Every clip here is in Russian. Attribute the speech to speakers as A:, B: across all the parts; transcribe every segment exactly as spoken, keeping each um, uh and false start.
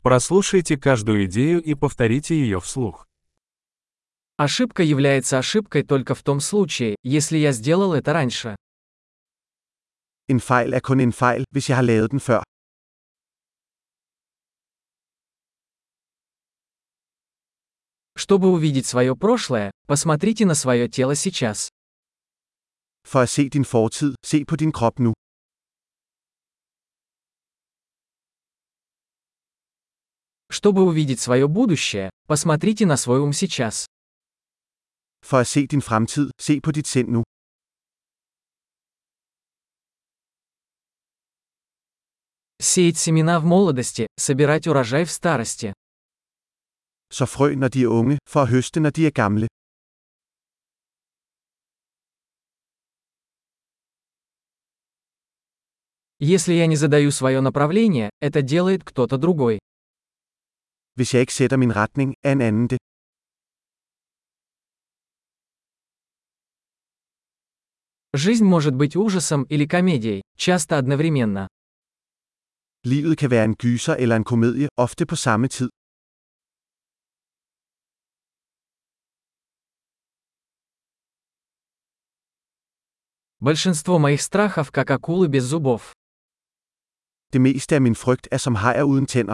A: Прослушайте каждую идею и повторите ее вслух.
B: Ошибка является ошибкой только в том случае, если я сделал это раньше.
C: En fejl er kun en fejl, hvis jeg har lavet den før.
B: Чтобы увидеть свое прошлое, посмотрите на свое тело сейчас.
C: For at se din fortid, se på din krop nu.
B: Чтобы увидеть свое будущее, посмотрите на свой ум сейчас.
C: For at se din fremtid, se på dit sind nu.
B: Сеять семена в молодости, собирать урожай в старости.
C: Så frø når de er unge, for at høste når de er gamle.
B: Если я не задаю свое направление, это делает кто-то другой.
C: Hvis jeg ikke sætter min retning, er en anden det.
B: Жизнь может быть ужасом или комедией, часто одновременно.
C: Livet kan være en gyser eller en komedie, ofte på samme tid.
B: Большинство моих страхов как акулы без зубов.
C: Det meste af min frygt er som hajer uden tænder.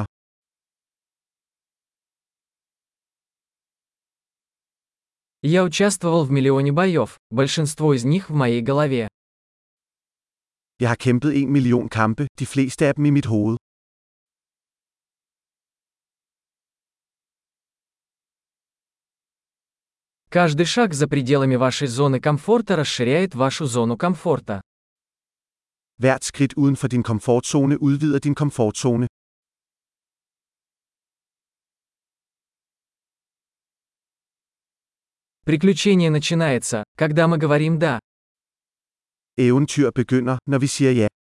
B: Я участвовал в миллионе боев, большинство из них в моей голове.
C: Jeg har kæmpet en million kampe, de fleste af dem i mit hoved.
B: Каждый шаг за пределами вашей зоны комфорта расширяет вашу зону комфорта.
C: Hvert skridt uden for din komfortzone udvider din komfortzone.
B: Приключение начинается, когда мы говорим «да».
C: Eventyr begynder, når vi siger ja.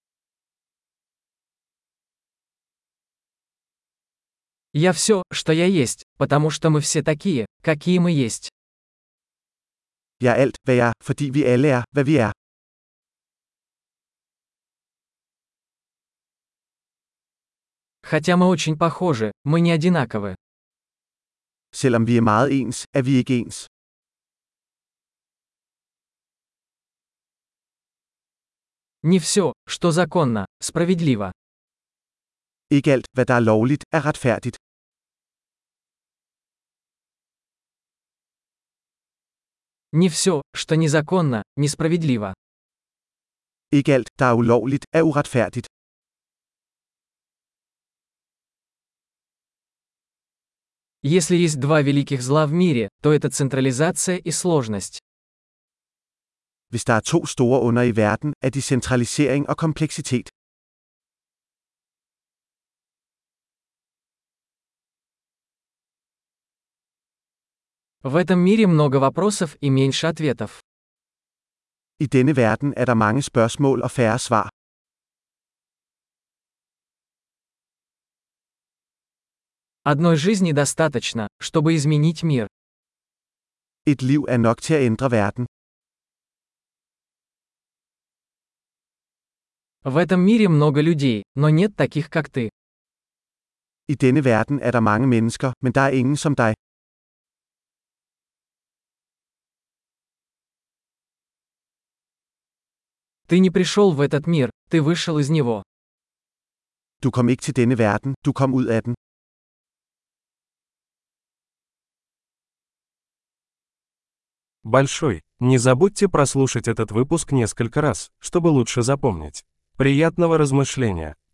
B: Я все, что я есть, потому что мы все такие, какие мы есть.
C: Jeg er alt, hvad jeg er, fordi vi alle er, hvad vi er.
B: Хотя мы очень похожи, мы не одинаковы.
C: Selvom vi er meget ens, er vi ikke ens.
B: Не все, что законно, справедливо.
C: Ikke alt, hvad der er lovligt, er retfærdigt.
B: Не все, что незаконно, несправедливо.
C: Ikke alt, der er ulovligt, er uretfærdigt.
B: Если есть два великих зла в мире, то это централизация и сложность.
C: Hvis der er to store onder i verden, er de centralisering og kompleksitet.
B: В этом мире много вопросов и меньше ответов.
C: I denne verden er der mange spørgsmål og færre svar.
B: Одной жизни достаточно, чтобы изменить мир.
C: Et liv er nok til at ændre verden.
B: В этом мире много людей, но нет таких, как ты.
C: I denne verden er der mange mennesker, men der er ingen som dig.
B: Ты не пришел в этот мир, ты вышел из него.
C: Du kom ikke til denne verden, du kom ud af den.
A: Большой. Не забудьте прослушать этот выпуск несколько раз, чтобы лучше запомнить. Приятного размышления!